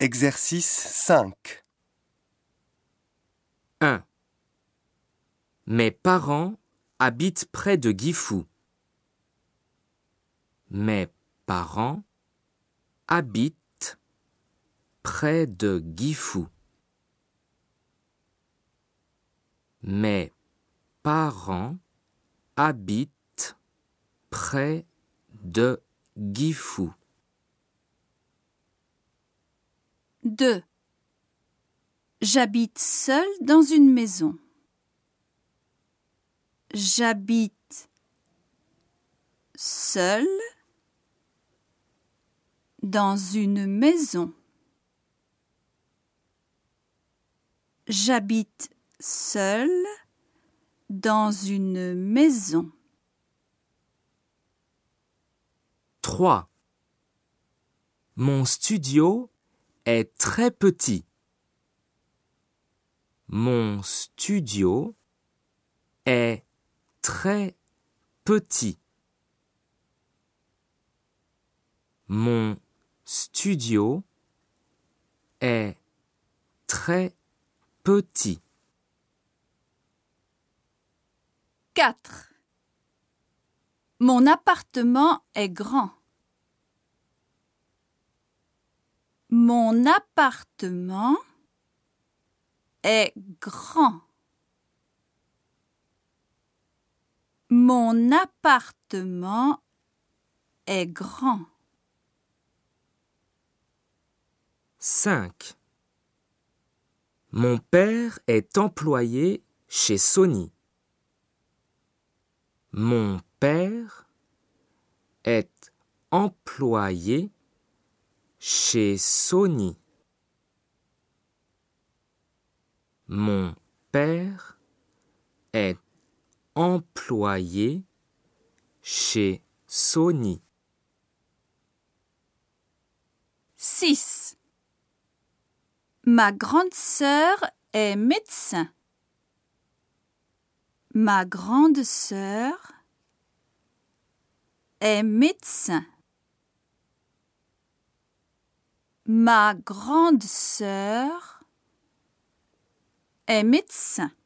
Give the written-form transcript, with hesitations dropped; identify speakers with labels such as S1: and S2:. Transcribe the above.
S1: Exercice 5.
S2: 1. Mes parents habitent près de Gifu. Mes parents habitent près de Gifu. Mes parents habitent près de Gifu.
S3: 2. J'habite seule dans une maison. J'habite seule dans une maison. J'habite seule dans une maison.
S2: 3. Mon studio est très petit. Mon studio est très petit. Mon studio est très petit.
S3: 4. Mon appartement est grand. Mon appartement est grand. Mon appartement est grand.
S2: 5. Mon père est employé chez Sony. Mon père est employé chez Sony. Mon père est employé chez Sony.
S3: 6. Ma grande sœur est médecin. Ma grande sœur est médecin. Ma grande sœur est médecin.